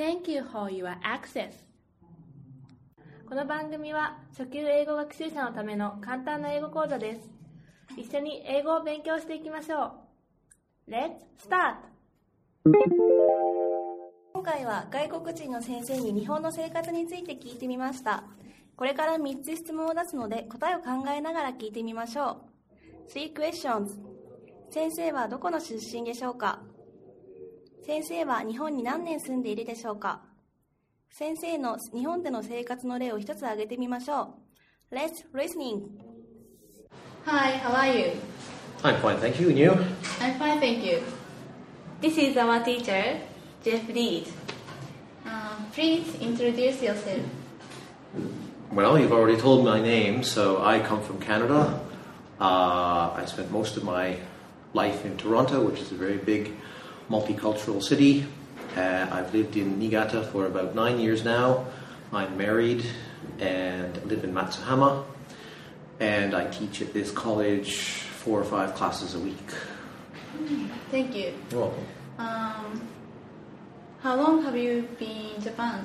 Thank you for your access. この番組は初級英語学習者のための簡単な英語講座です。一緒に英語を勉強していきましょう。Let's start! 今回は外国人の先生に日本の生活について聞いてみました。これから3つ質問を出すので答えを考えながら聞いてみましょう。3 questions。先生はどこの出身でしょうか？先生は日本に何年住んでいるでしょうか？先生の日本での生活の例を一つ挙げてみましょう。Let's listening. Hi, how are you? I'm fine, thank you. And you? I'm fine, thank you. This is our teacher, Jeff Reed. Please introduce yourself. Well, you've already told my name, so I come from Canada. I spent most of my life in Toronto, which is a very big multicultural city. I've lived in Niigata for about 9 years now. I'm married and live in Matsuhama, and I teach at this college 4 or 5 classes a week. Thank you. You're welcome. How long have you been in Japan?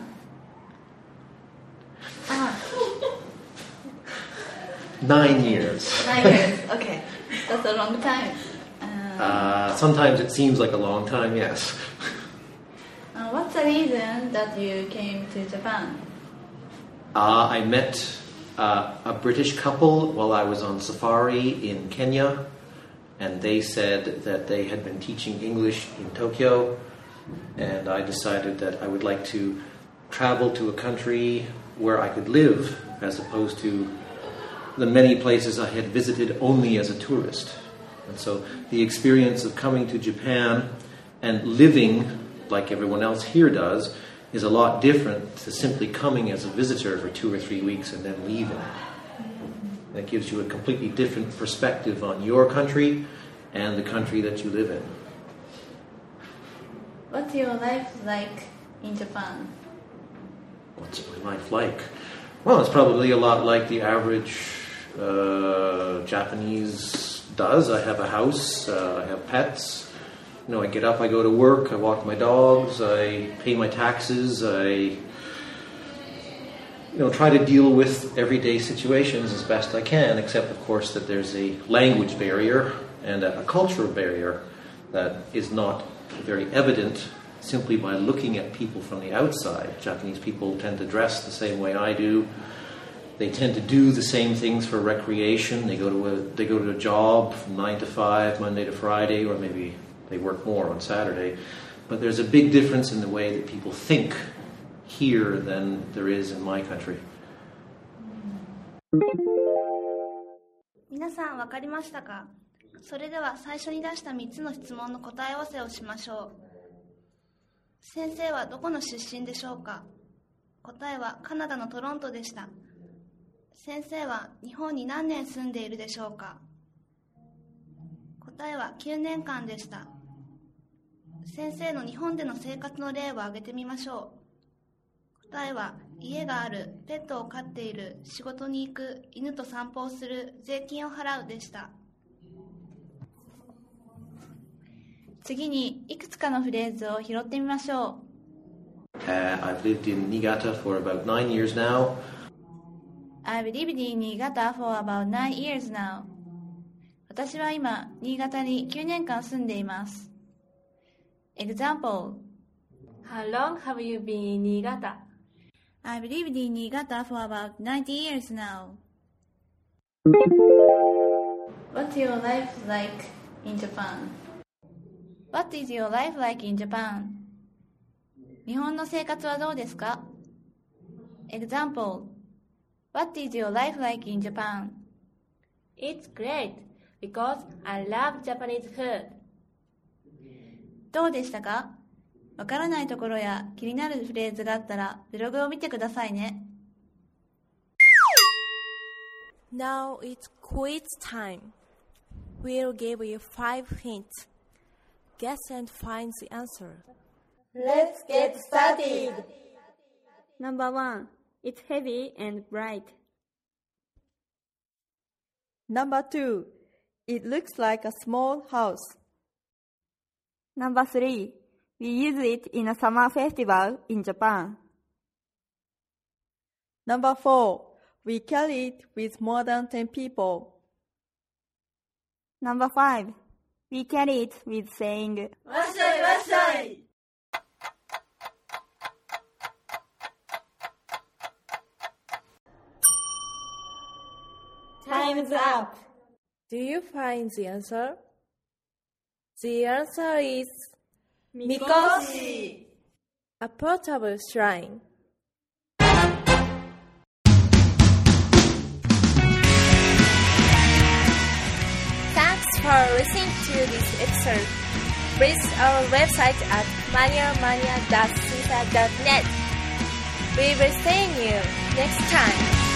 9 years. 9 years, okay. That's a long time. Sometimes it seems like a long time, yes. What's the reason that you came to Japan? I met a British couple while I was on safari in Kenya, and they said that they had been teaching English in Tokyo, and I decided that I would like to travel to a country where I could live as opposed to the many places I had visited only as a tourist. And so the experience of coming to Japan and living like everyone else here does is a lot different to simply coming as a visitor for 2 or 3 weeks and then leaving. That gives you a completely different perspective on your country and the country that you live in. What's your life like in Japan? What's my life like? Well, it's probably a lot like the average Japanese does. I have a house, I have pets. You know, I get up, I go to work, I walk my dogs, I pay my taxes, I try to deal with everyday situations as best I can, except of course that there's a language barrier and a cultural barrier that is not very evident simply by looking at people from the outside. Japanese people tend to dress the same way I do. They tend to do the same things for recreation. They go to a job from 9 to 5, Monday to Friday, or maybe they work more on Saturday. But there's a big difference in the way that people think here than there is in my country. 皆さん分かりましたか？それでは最初に出した3つの質問の答え合わせをしましょう。先生はどこの出身でしょうか？答えはカナダのトロントでした。先生は日本に何年住んでいるでしょうか？答えは9年間でした。先生の日本での生活の例を挙げてみましょう。答えは家がある、ペットを飼っている、仕事に行く、犬と散歩をする、税金を払うでした。次にいくつかのフレーズを拾ってみましょう。 I've lived in Niigata for about 9 years now. I've lived in Niigata for about 9 years now. 私は今、新潟に9年間住んでいます。Example: How long have you been in Niigata? I've lived in Niigata for about 90 years now. What's your life like in Japan? What is your life like in Japan? 日本の生活はどうですか？ Example: What is your life like in Japan? It's great because I love Japanese food. どうでしたか？わからないところや気になるフレーズがあったらブログを見てくださいね。 Now it's quiz time. We'll give you 5 hints. Guess and find the answer. Let's get started. Number 1. It's heavy and bright. Number 2. It looks like a small house. Number 3. We use it in a summer festival in Japan. Number 4. We carry it with more than 10 people. Number 5. We carry it with saying, "Wassai, wassai!" Time's up. Do you find the answer? The answer is Mikoshi. a portable shrine. Thanks for listening to this episode. Visit our website at maniamania.caesar.net. We will see you next time.